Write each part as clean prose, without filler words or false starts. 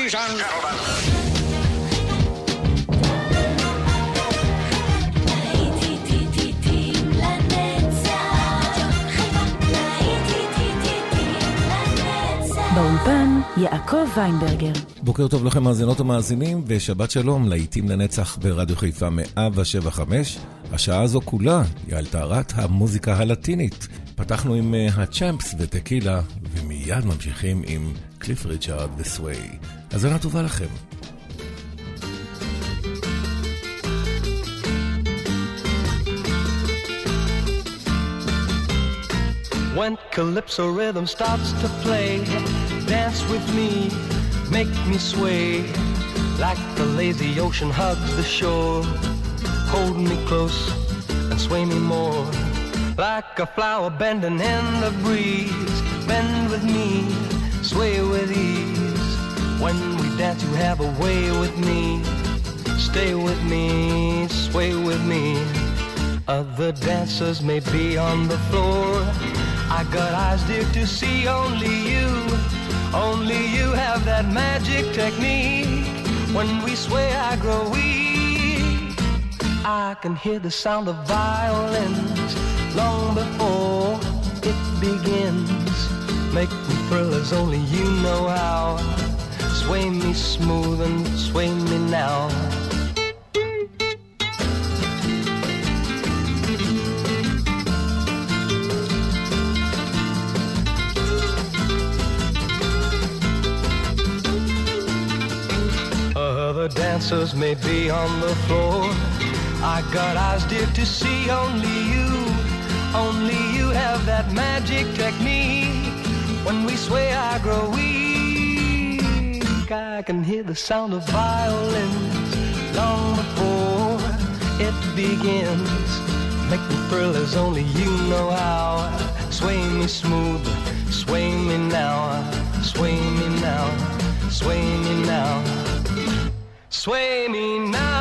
Ladies and gentlemen. באולפן יעקב ויינברגר. בוקר טוב לכם מאזינות ומאזינים, ושבת שלום לעיתים לנצח ברדיו חיפה 107.5. השעה הזו כולה היא על טהרת המוזיקה הלטינית. פתחנו עם הצ'אמפס וטקילה, ומיד ממשיכים עם קליף ריצ'ארד וסווי. האזנה טובה לכם. When calypso rhythm starts to play, dance with me, make me sway, like the lazy ocean hugs the shore. Hold me close and sway me more, like a flower bending in the breeze. Bend with me, sway with ease. When we dance you have a way with me. Stay with me, sway with me. Other dancers may be on the floor, I got eyes dear to see only you. Only you have that magic technique. When we sway I grow weak. I can hear the sound of violins long before it begins. Make me thrill as only you know how. Sway me smooth and sway me now. Other dancers may be on the floor, I got eyes dear to see only you. Only you have that magic technique. When we sway I grow weak. I can hear the sound of violins long before it begins. Make me thrill as only you know how. Sway me smooth, sway me now. Sway me now, sway me now. Sway me now.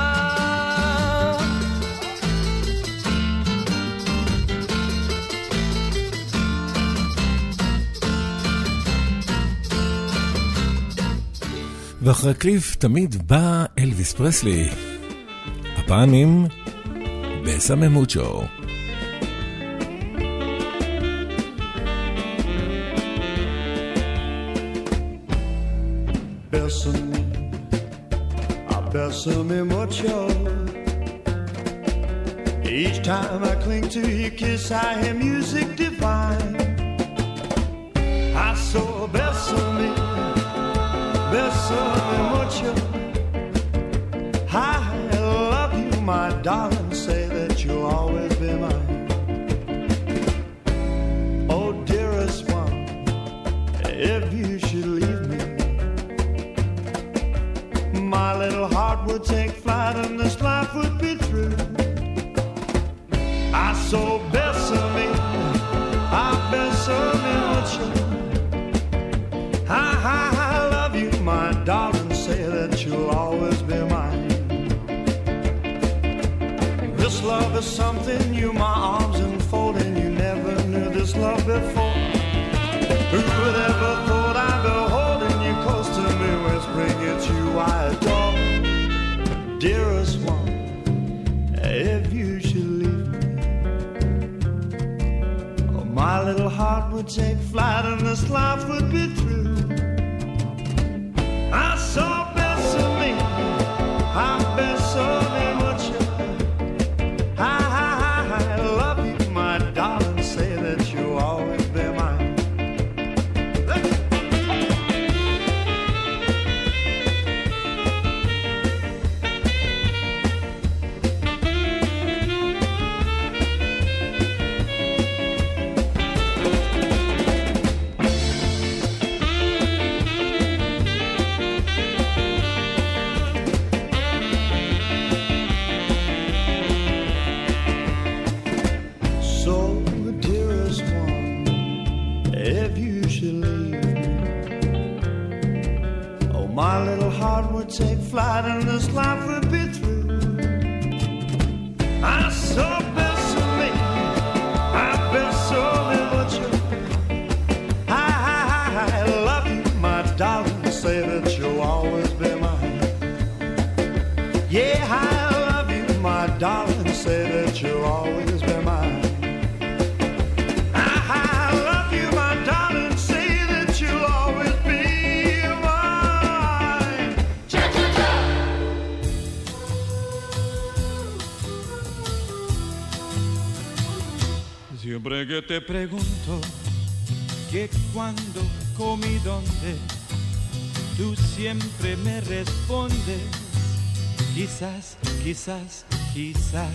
ואחרי קליף תמיד בא אלוויס פרסלי, הפעם עם בסמה מוצ'ו. Bésame mucho. Each time I cling to your kiss, I hear music divine. I saw bésame, bésame mucho. I love you, my darling. Say that you'll always be mine. Oh, dearest one, if you should leave me, my little heart would take flight and this life would be through. I saw bésame, I bésame mucho. I love you, my darling. Say that you'll always be mine. This love is something new, my arms enfolding. You never knew this love before. Who would ever thought I'd be holding you close to me, whispering it's you I adore. Dearest one, if you should leave me, oh, my little heart would take flight and this life would be through. I saw bésame, I bésame mucho. I love you, my darling. Say that you'll always be mine. My little heart would take flight and this life would be through. I saw bésame, I bésame mucho. I love you, my darling. Say that you'll always Siempre que te pregunto que cuándo, cómo y dónde, tú siempre me respondes, quizás, quizás, quizás.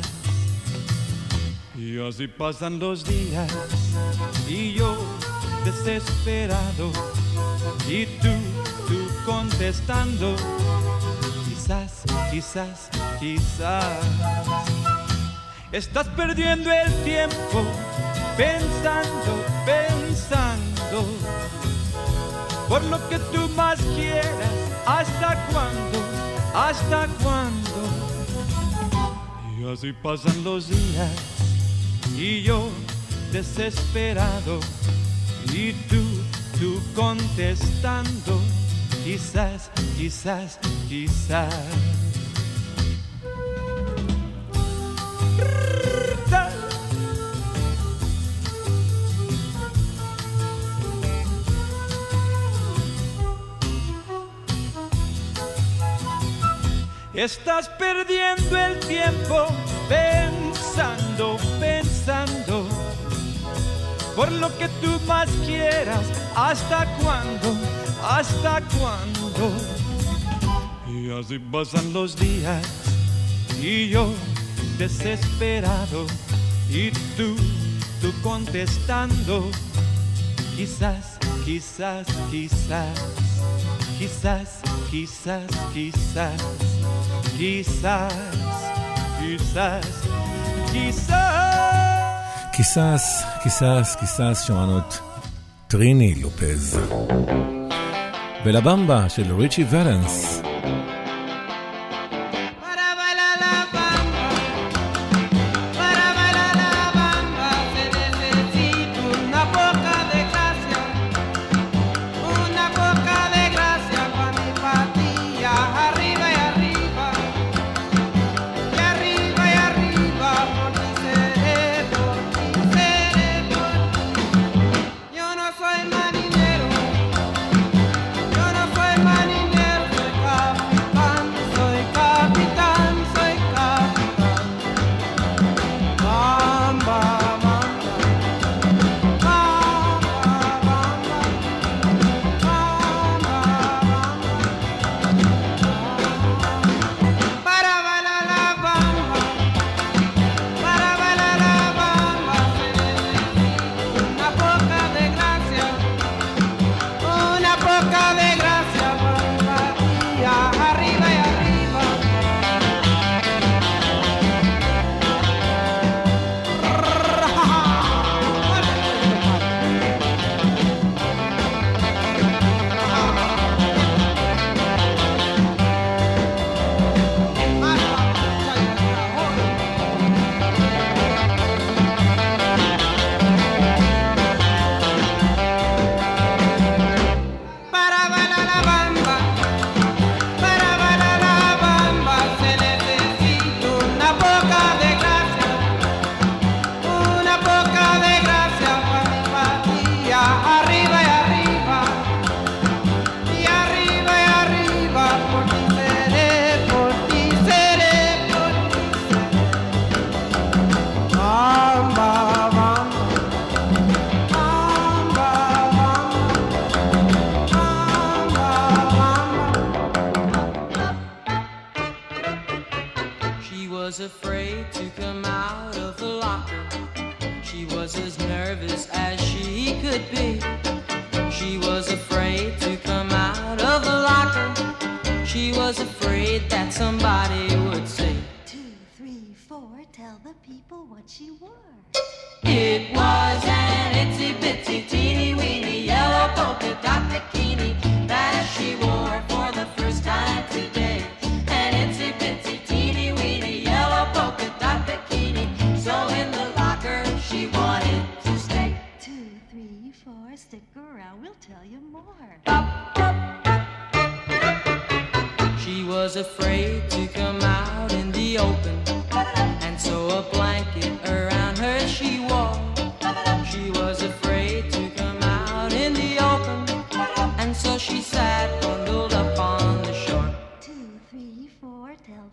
Y así pasan los días y yo desesperado y tú contestando, quizás, quizás, quizás. Estás perdiendo el tiempo pensando, pensando, por lo que tú más quieras. ¿Hasta cuándo? ¿Hasta cuándo? Y así pasan los días y yo desesperado y tú contestando, quizás, quizás, quizás. Estás perdiendo el tiempo pensando, pensando, por lo que tú más quieras. ¿Hasta cuándo? ¿Hasta cuándo? Y así pasan los días y yo desesperado y tú contestando, quizás, quizás, quizás, quizás, quizás, quizás, quizás, quizás, quizás. קיסס, קיסס, קיסס, שמענו את טריני לופז. ולבמבה של ריצ'י ולנס.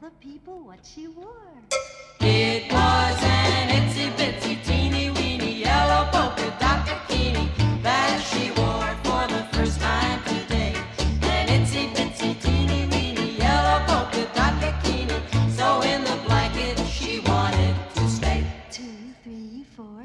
It was an itsy bitsy teeny weeny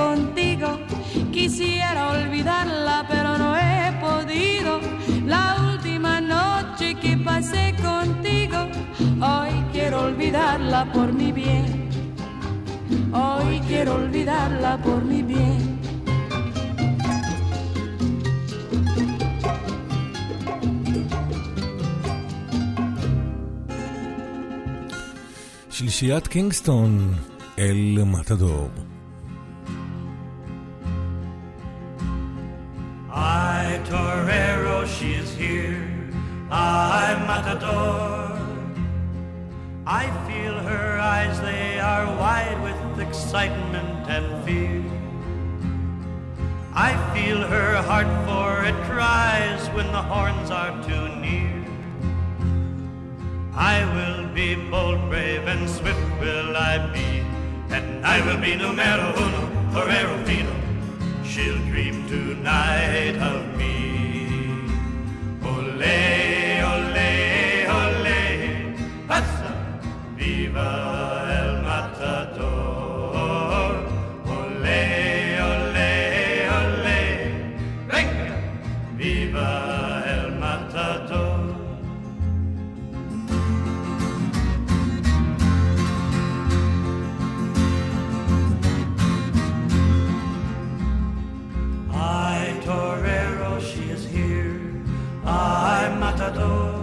contigo. Quisiera olvidarla, pero no he podido. La última noche que pasé contigo, hoy quiero olvidarla por mi bien. Hoy quiero olvidarla por mi bien. שלישיית קינגסטון, אל מתדור. Ay, torero, she is here. Ay, matador. I feel her eyes, they are wide with excitement and fear. I feel her heart, for it cries when the horns are too near. I will be bold, brave, and swift will I be, and I will be numero uno, torero fino. She'll dream tonight of me. Ole, ole, ole, passa, viva el matador. Ole, ole, ole, venga, viva el matador. Torero, she is here. I'm matador.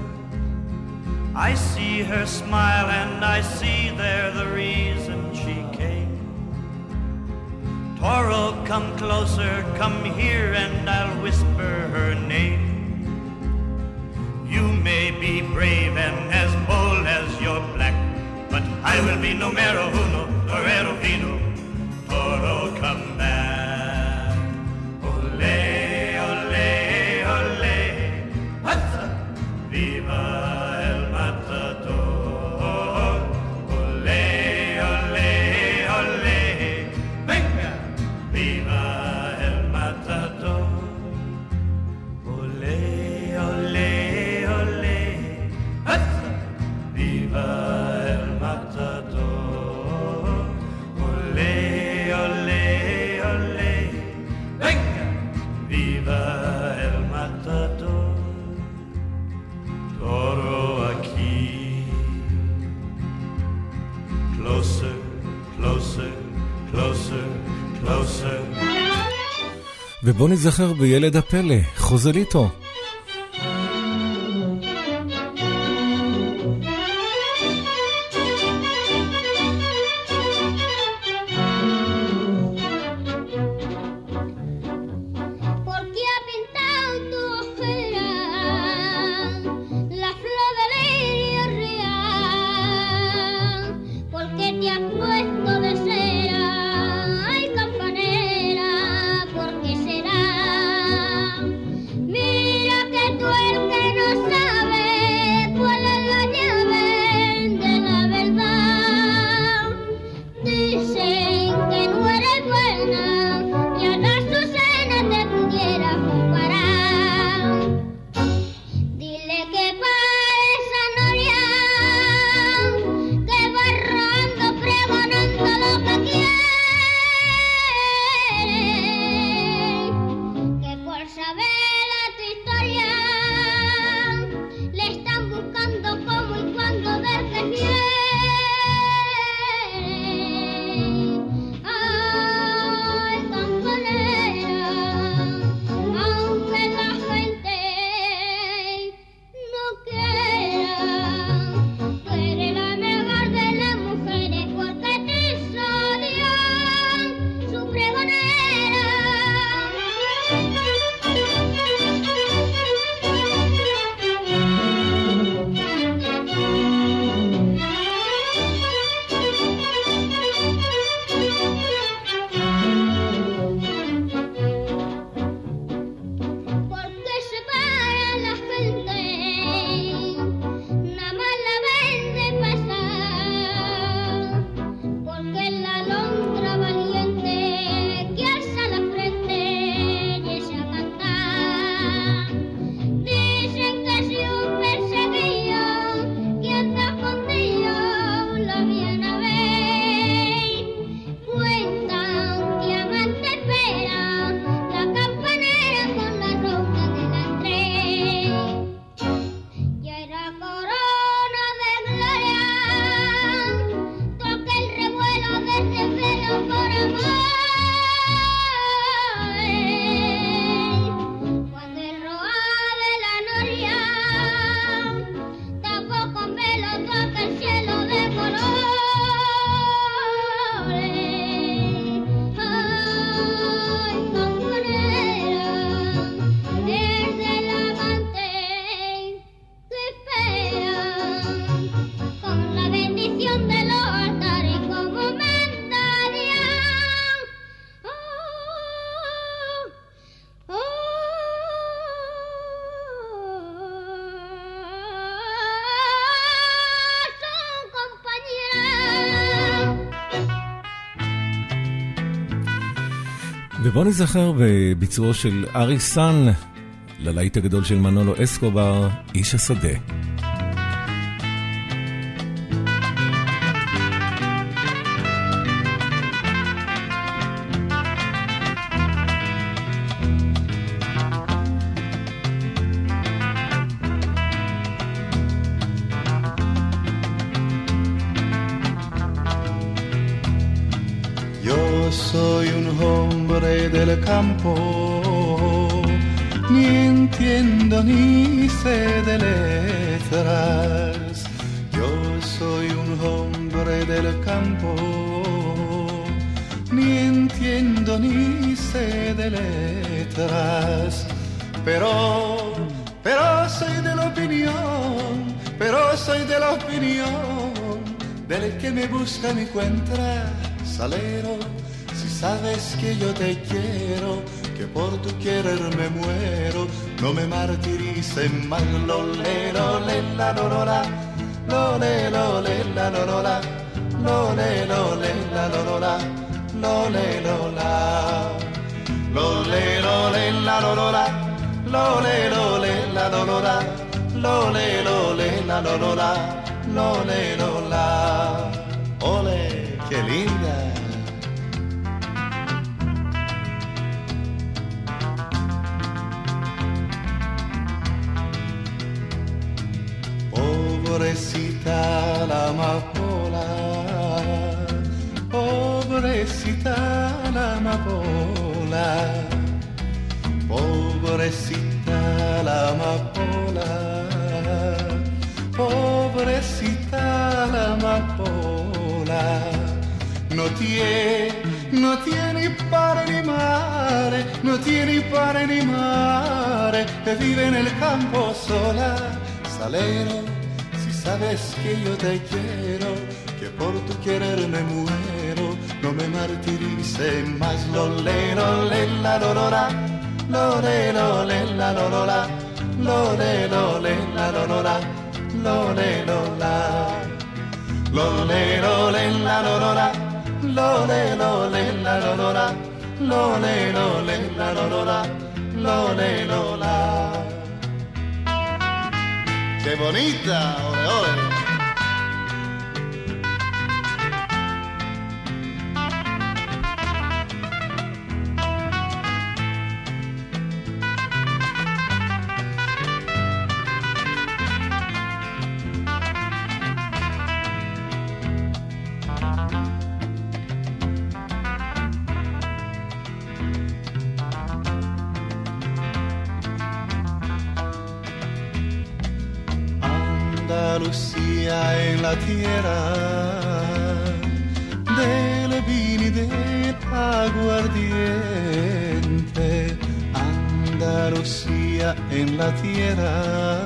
I see her smile and I see there the reason she came. Toro, come closer, come here, and I'll whisper her name. You may be brave and as bold as you're black, but I will be numero uno, torero fino. Toro, come back. Ole, ole, ole, hazza, viva el matador. Ole, ole, ole, venga, viva el matador. Ole, ole, ole, hazza, viva el matador. Ole, ole, ole, venga, viva el matador. Toro aquí. Closer, closer, closer, closer. ובוא נזכר בילד הפלא, חוזליטו. Me ובוא נזכר בביצועו של ארי סן ללהיט הגדול של מנולו אסקובר, איש השדה. Soy un hombre del campo, ni entiendo ni sé de letras. Yo soy un hombre del campo, ni entiendo ni sé de letras. Pero soy de la opinión, del que me busca me encuentra, salero. Sabes que yo te quiero, que por tu querer me muero, no me martirices más, lole, lole, la, lorola, lole, lole, la, lorola, lole, lole, la, lorola, lole, lola, lole, lole, la, lorola, lole, lole, la, lorola, lole, lole, la, lorola, lole, lola, ole, qué linda. Pobrecita la amapola, pobrecita la amapola, pobrecita la amapola, pobrecita la amapola. No tiene padre ni madre, no tiene padre ni madre, que vive en el campo sola, salero. Sabes que yo te quiero, que por tu querer me muero, no me martirices más, lole, lole, la, lorora, lole, lole, la, lorora, lole, lole, la, lorora, lole, lola, lole, lole, la, lorora, lole, lole, la, lorora, lole, lole, la, lorora, lole, lola. ¡Qué bonita! ¡Ole, ole! Andalucía en la tierra del vino y del aguardiente. Andalucía en la tierra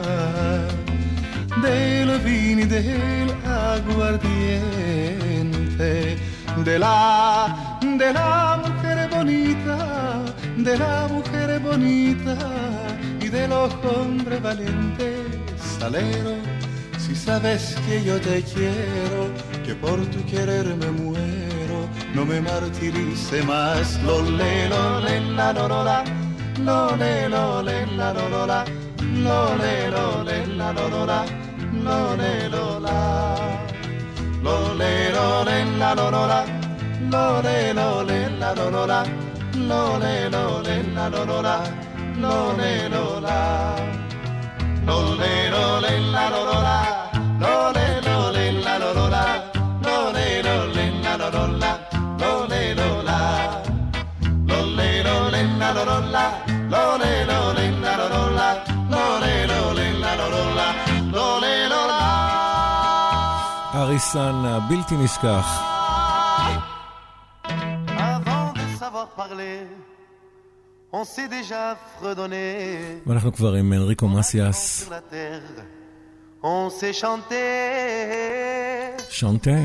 del vino y del aguardiente. De la mujer bonita, de la mujer bonita y de los hombres valientes, salero. Si sabes que yo te quiero, que por tu querer me muero, no me martirice más, lole, lole, la, lorola, lole, lole, la, lorola, lole, lole, la, lorola, lole, lola, lole, lole, la, lorola, lole, lole, la, lorola, lole, lole, la, lorola, lole, lola, lole, lole, la, lorola. Lole, lole, la, lorola, lole, lole, la, lorola, lole, lola, lole, lole, la, lorola, lole, lole, la, lorola, lole, lole, la, lorola, lole, lola. ארי סן הבלתי נשכח. Avant de savoir parler, on s'est déjà fredonné. ואנחנו כבר עם אנריקו מסיאס. On s'est chanté. Chanté.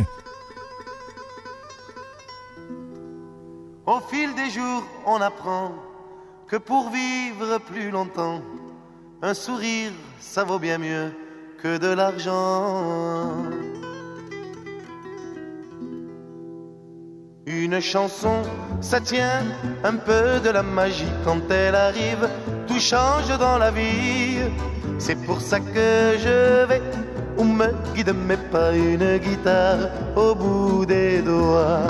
Au fil des jours, on apprend que pour vivre plus longtemps, un sourire, ça vaut bien mieux que de l'argent. Une chanson, ça tient un peu de la magie. Quand elle arrive, tout change dans la vie. C'est pour ça que je vais où me guide mes pas, une guitare au bout des doigts.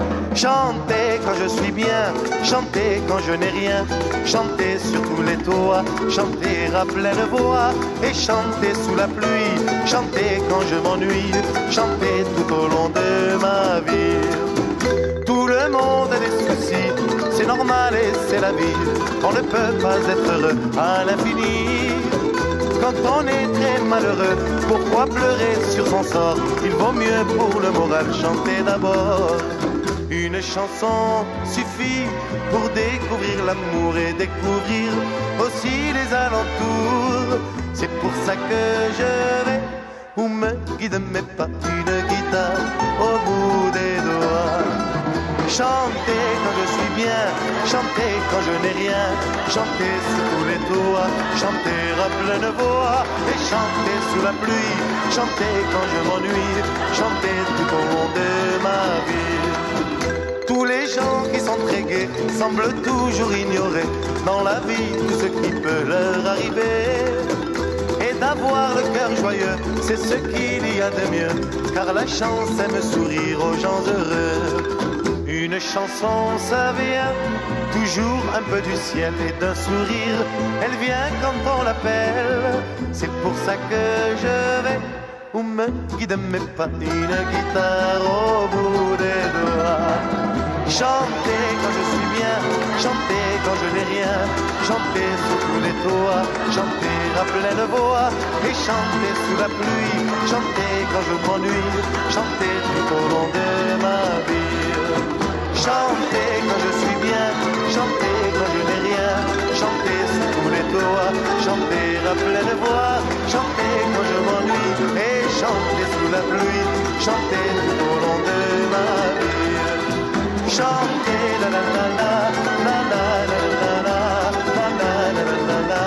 Chanter quand je suis bien, chanter quand je n'ai rien, chanter sur tous les toits, chanter à pleine voix et chanter sous la pluie, chanter quand je m'ennuie, chanter tout au long de ma vie. Tout le monde a des soucis, c'est normal et c'est la vie, on ne peut pas être heureux à l'infini. Quand on est très malheureux, pourquoi pleurer sur son sort? Il vaut mieux pour le moral chanter d'abord. Une chanson suffit pour découvrir l'amour et découvrir aussi les alentours. C'est pour ça que je vais où me guident mes pas, une guitare au bout des doigts. Chanter quand je suis bien, chanter quand je n'ai rien, chanter sous tous les toits, chanter à pleine voix et chanter sous la pluie, chanter quand je m'ennuie, chanter tout au long de ma vie. Tous les gens qui sont très gais semblent toujours ignorer dans la vie tout ce qui peut leur arriver. Et d'avoir le cœur joyeux, c'est ce qu'il y a de mieux, car la chance aime sourire aux gens heureux. Une chanson, ça vient toujours un peu du ciel et d'un sourire. Elle vient quand on l'appelle. C'est pour ça que je vais où me guide mes pas, une guitare au bout des doigts. Chanter quand je suis bien, chanter quand je n'ai rien, chanter sous tous les toits, chanter à pleine voix et chanter sous la pluie, chanter quand je m'ennuie, chanter tout au long de ma vie. Chanter quand je suis bien, chanter quand je n'ai rien, chanter sous tous les toits, chanter à pleine voix, chanter quand je m'ennuie et chanter sous la pluie, chanter tout au long de ma vie. Chanter la la la la la la la la la la la la la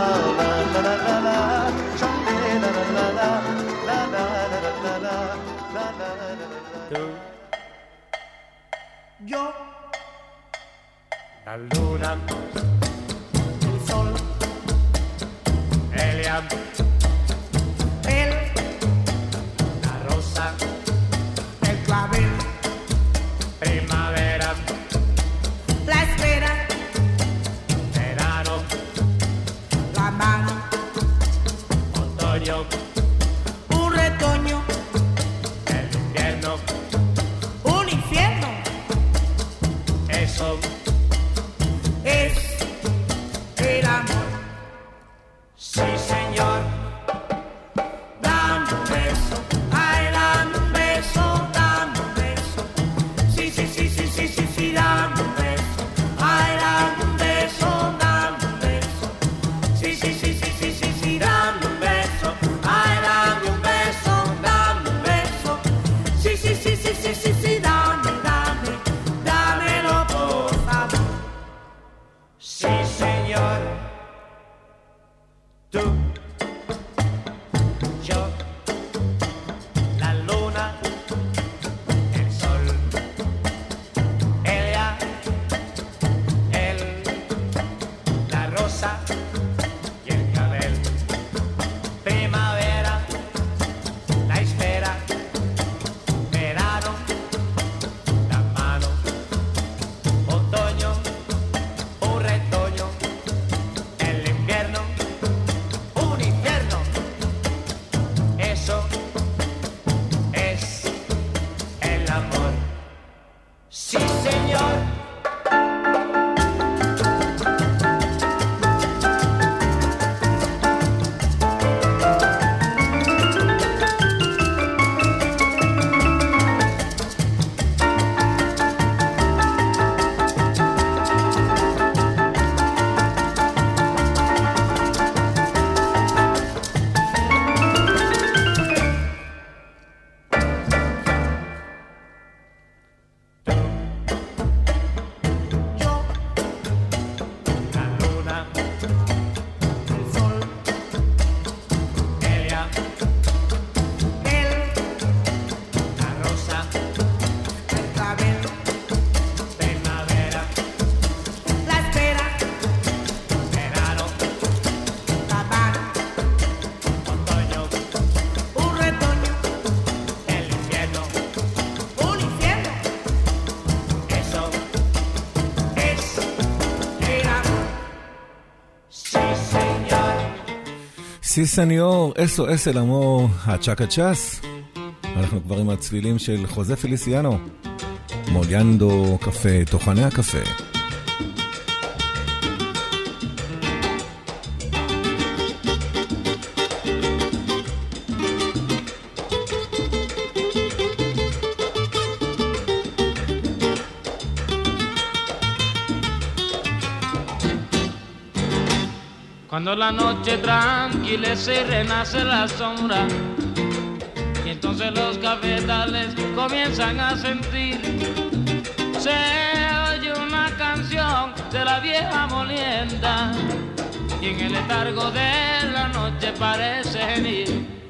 la la la la, chanter la la la la la la la la la la la. Yo, la luna, el sol, Elia, él, la rosa, el clavel, primavera, la espera, verano, la mano, otoño, un retoño, el invierno, un infierno. Eso es el amor. Sí, señor. Dame un beso, ay, dame un beso, dame un beso. Sí, sí, sí, sí, sí, sí, sí, dame un beso. Ay, dame un beso, dame un beso. Sí, sí, sí, sí, sí, sí, sí, dame un beso. Ay, dame un beso, dame un beso. Sí, sí, sí, sí, sí, sí, sí, dame, dame, dámelo por favor. Sí, señor. Tú, yo, la luna, el sol, ella, él, la rosa y el clavel, primavera, la espera, verano, la mano, otoño, un retoño, el invierno, סי סניור, אסו אס אל אמור, הצ'קה צ'אס. אנחנו כבר עם הצלילים של חוזה פליסיאנו. מוליאנדו קפה, תוכני הקפה. Cuando la noche tranquilece y renace la sombra, y entonces los cafetales comienzan a sentir, se oye una canción de la vieja molienda, y en el letargo de la noche parece venir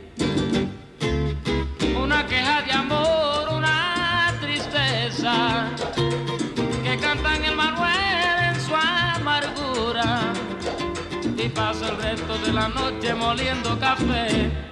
una queja de amor, una tristeza, que cantan el Manuel en su amargura. Y pasa el resto de la noche moliendo café.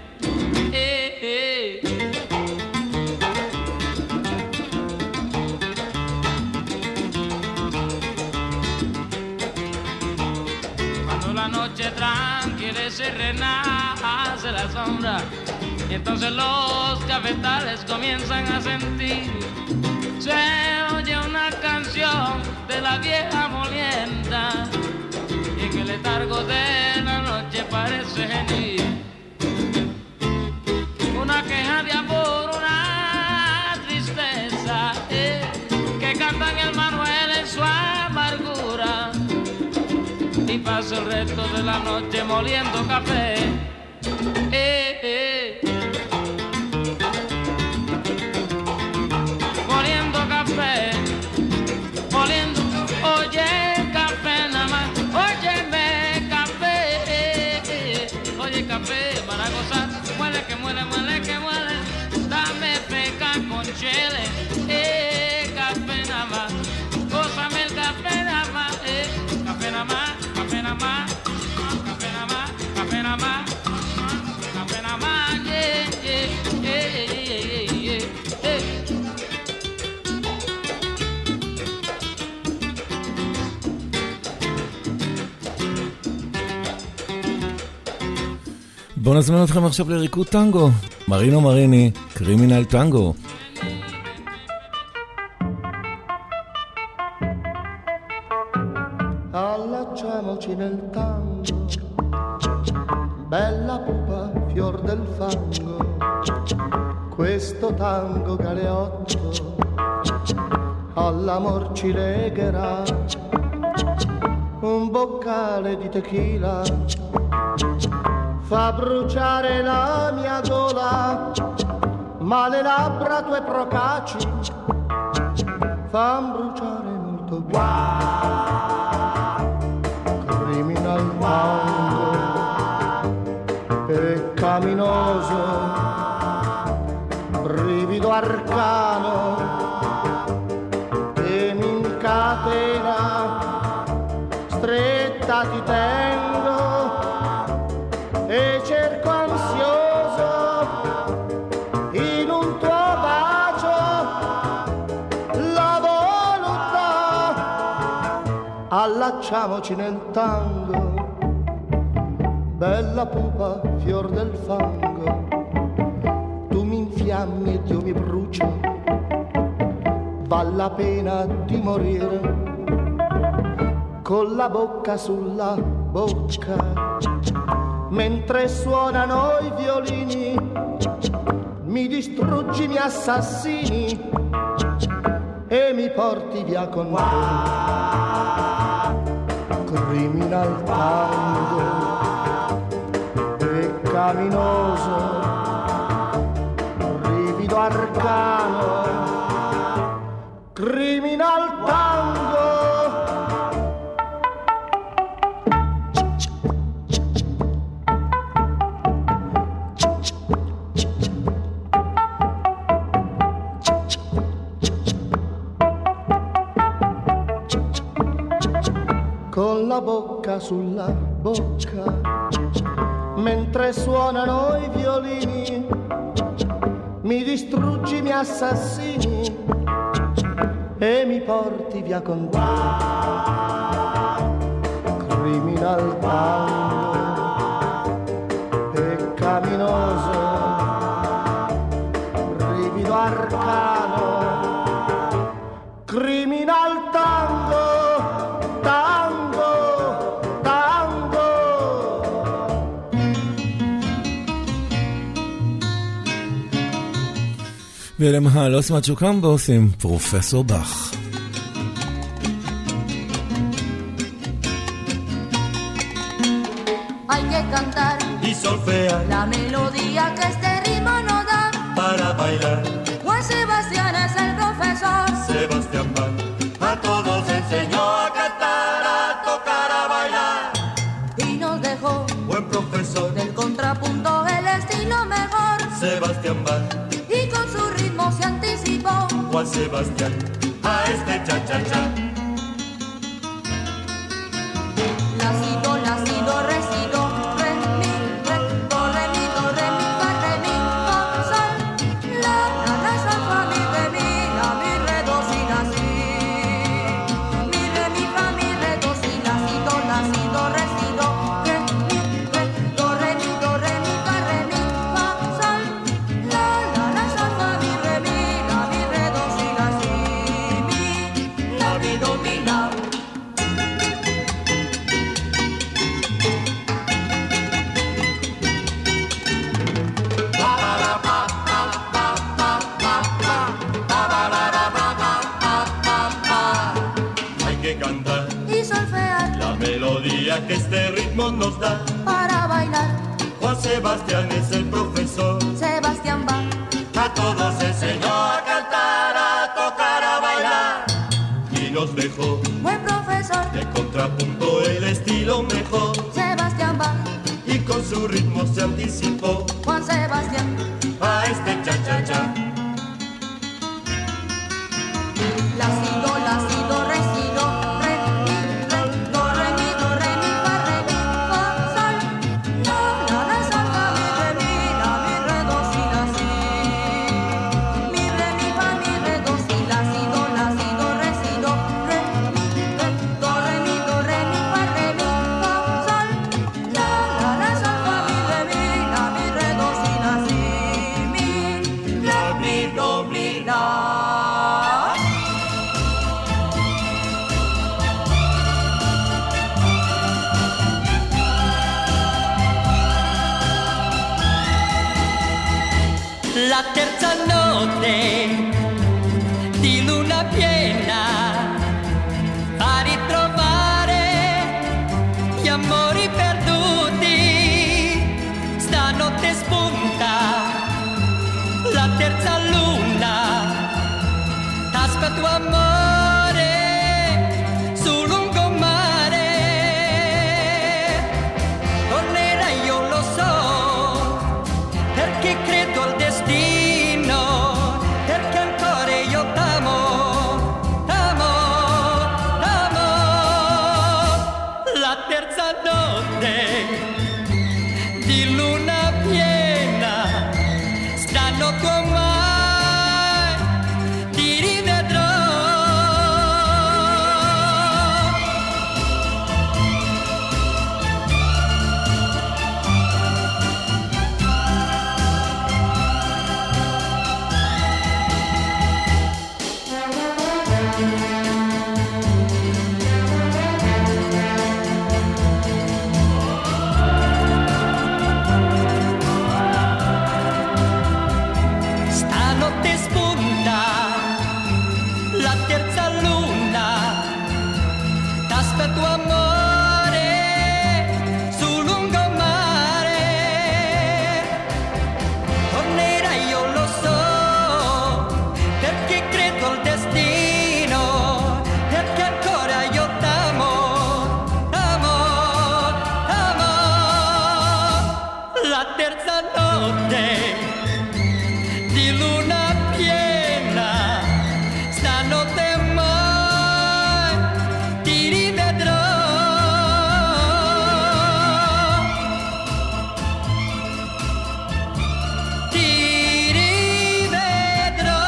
Cuando la noche tranquilece y renace la sombra, y entonces los cafetales comienzan a sentir, se oye una canción de la vieja molienda, y en el letargo de la noche parece venir una queja de amor, una tristeza, que cantan el Manuel en su amargura, y pasa el resto de la noche moliendo café. Moliendo café, moliendo, oye. Café para gozar, muele que muele, muele que muele, dame peca con chile, café nada más, gózame el café nada más, café nada más, café nada más, café nada más, café nada más, café nada más, בואו נזמין אתכם עכשיו לריקוד טנגו. מרינו מריני, קרימינל טנגו. Allacciamoci nel tango, bella pupa, fior del fango, questo tango galeotto all'amor ci legherà, un boccale di tequila fa bruciare la mia gola, ma le labbra tue procaci fan bruciare molto criminal tango peccaminoso, brivido arcano che mi incatena, stretta ti tengo e cerco ansioso in un tuo bacio la volontà. Allacciamoci nel tango, bella pupa, fior del fango, tu mi infiammi ed io mi brucio, val la pena di morire con la bocca sulla bocca, mentre suonano i violini, mi distruggi, mi assassini e mi porti via con te. Criminal tango, peccaminoso, brivido arcano, criminal tango. Con la bocca sulla bocca, mentre suonano i violini, mi distruggi, mi assassini e mi porti via con te. Criminal tango, ואלה מהלוס מצ'וקמבוס עם פרופסור בח. Hay que cantar y solfear la melodía que este ritmo nos da. para bailar. Juan Sebastián es el profesor. Sebastián Bach a todos enseñó a cantar, a tocar, a bailar. Y nos dejó Buen profesor, del contrapunto el estilo mejor. Sebastián Bach, Y con su ritmo se anticipó. Juan Sebastián, a este cha-cha-cha. La, si, do, re, si, do, re, mi, do, re, mi, fa, re, mi, fa, sol, la, sol, fa, mi, re, do, si, la, si. Mi, re, mi, fa, mi, re, do, si, la, si, do, re, si, do, re, mi, do, re, mi, fa, re, mi, fa, sol, la, sol, fa, mi, re, do, si, la, si. Mi, la, mi, do, mi, la. Hay que cantar Y solfear la melodía que este ritmo nos da. para bailar. Juan Sebastián es el profesor, Sebastián Bach a todos enseñó a cantar, a tocar, a bailar. Y nos dejó buen profesor. de contrapunto el estilo mejor. Sebastián Bach, Y con su ritmo se anticipó Juan Sebastián. a este cha-cha-cha. La, si, do, re, si, do, re, mi, do, re, mi, fa, re, mi, fa, sol, la, sol, fa, mi, re, do, si, la, si. Mi, re, mi, fa, mi, re, do, si, la, si, do, re, si, do, re, mi, do, re, mi, fa, re, mi, fa, sol, la, sol, fa, mi, re, do, si, la, si. Mi, re, mi, do, mi, la. La terza notte di luna piena a ritrovare gli amori perduti. Stanotte spunta la terza luna, t'aspetto amore sul lungomare. Tornerai, io lo so, perché credo al destino, perché ancora io t'amo, t'amo, t'amo. La terza notte di luna piena, stanotte ormai ti rivedrò. Stanotte spunta la terza luna, t'aspetto amore sul lungomare. Tornerai, io lo so, perché credo al destino, perché ancora io t'amo, t'amo, t'amo. La terza notte di luna piena, stanotte mai ti rivedrò. Ti rivedrò.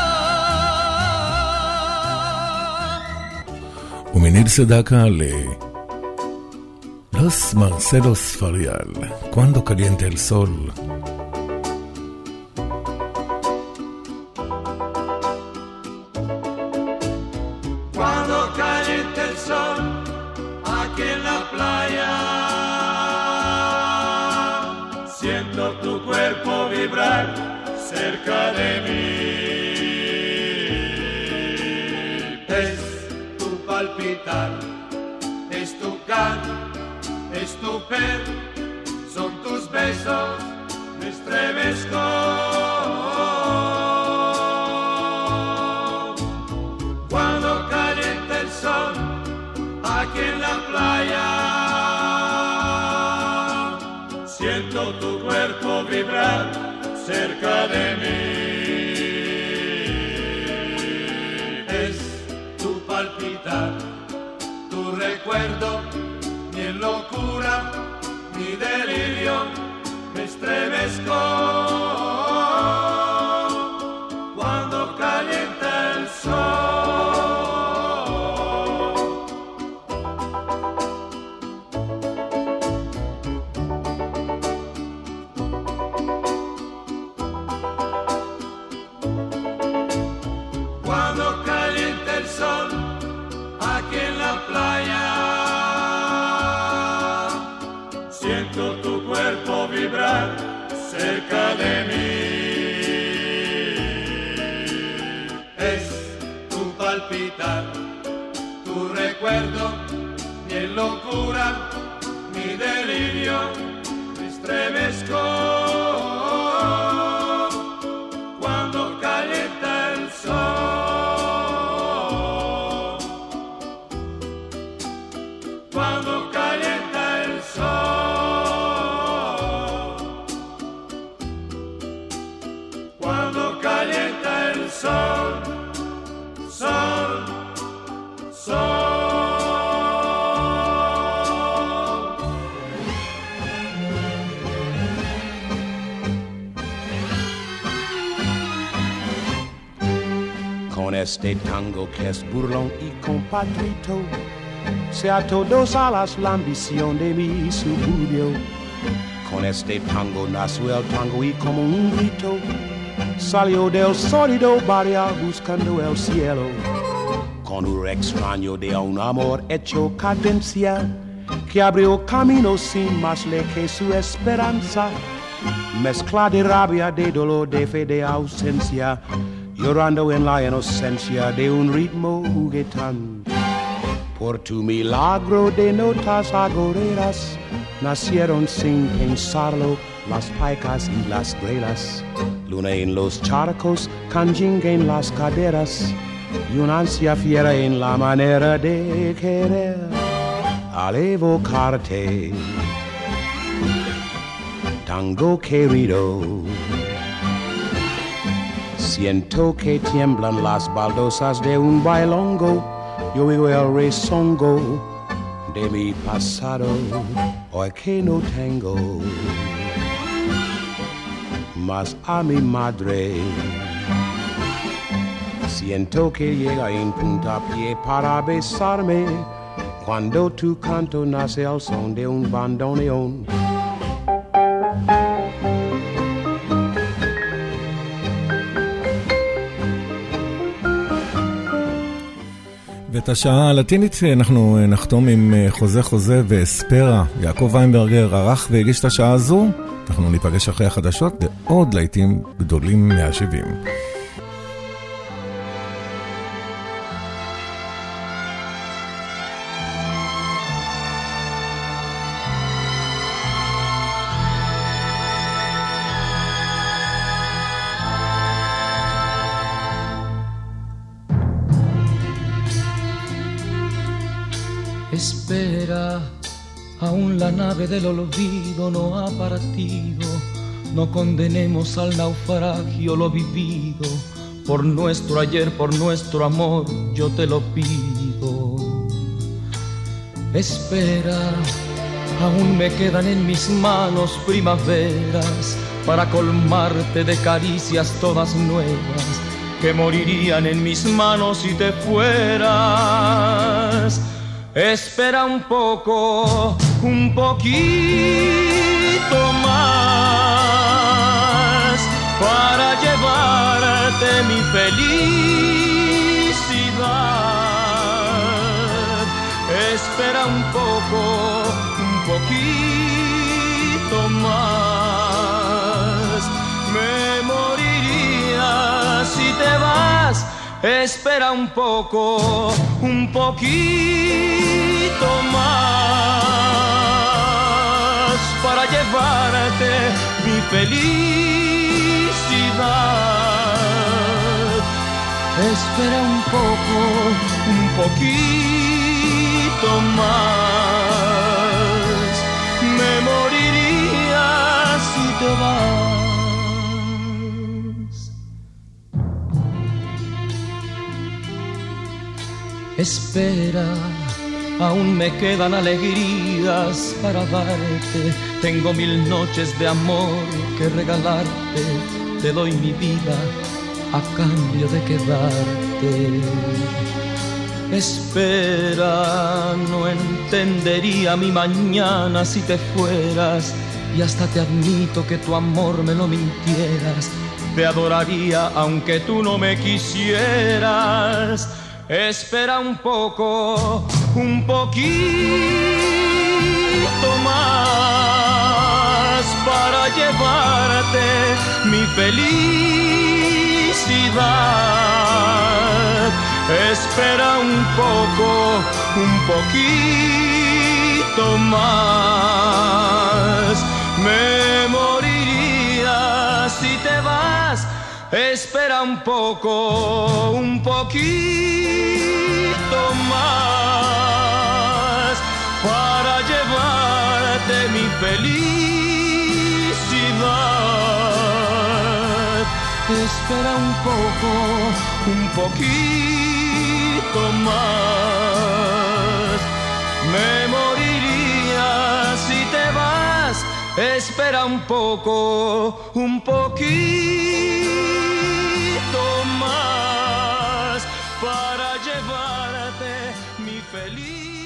ומניל סדקה Los Marcelos Farial, Cuando caliente el sol. Cuando caliente el sol aquí en la playa, siento tu cuerpo vibrar cerca de mí. aquí en la playa. Siento tu cuerpo vibrar cerca de mí. Es tu palpitar, tu recuerdo, mi locura, mi delirio, me estremezco cuando calienta el sol. Cuando calienta el sol aquí en la playa, siento tu cuerpo vibrar cerca de mí. Es tu palpitar, tu recuerdo, mi locura, mi delirio, me estremezco cuando calienta el sol. Cuando calienta el sol. Cuando calienta el sol. Sol. Sol. Con este tango que es burlón y compatrito, se atodosa la ambición de mi suburbio. Con este tango nació el tango y como un grito salió del sólido barrio buscando el cielo. Con un extraño de un amor hecho cadencia que abrió camino sin más ley que su esperanza. Mezcla de rabia, de dolor, de fe, de ausencia, llorando en la inocencia de un ritmo juguetón. Por tu milagro de notas agoreras nacieron sin pensarlo las paicas y las grelas. Luna en los charcos, canjinga en las caderas y una ansia fiera en la manera de querer. Al evocarte, tango querido, siento que tiemblan las baldosas de un bailongo. Yo oigo el rezongo de mi pasado, hoy que no tengo más a mi madre. Siento que llega en puntapié para besarme cuando tu canto nace al son de un bandoneón. ואת השעה הלטינית אנחנו נחתום עם חוזה חוזה ואספרה. יעקב ויינברגר ערך והגיש את השעה הזו. אנחנו ניפגש אחרי החדשות לעוד להיטים גדולים מה-70. Espera, aún la nave del olvido no ha partido. No condenemos al naufragio lo vivido. Por nuestro ayer, por nuestro amor, yo te lo pido. Espera, aún me quedan en mis manos primaveras para colmarte de caricias todas nuevas que morirían en mis manos si te fueras. Espera un poco, un poquito más para llevarte mi felicidad. Espera un poco, un poquito más. Me moriría si te vas. Espera un poco, un poquito más para llevarte mi felicidad. Espera un poco, un poquito poquito más. Me moriría si te vas. Espera, aún me quedan alegrías para darte. Tengo 1000 noches de amor que regalarte. Te doy mi vida a cambio de quedarte. Espera, no entendería mi mañana si te fueras. Y hasta te admito que tu amor me lo mintieras. Te adoraría aunque tú no me quisieras. Espera un poco, un poquito más para llevarte mi felicidad. Espera un poco, un poquito más. Me moriría si te vas. Espera un poco, un poquito más para llevarte mi felicidad. Espera un poco, un poquito más. Me moriría si te vas. Espera un poco, un poquito más para llevarte mi felicidad.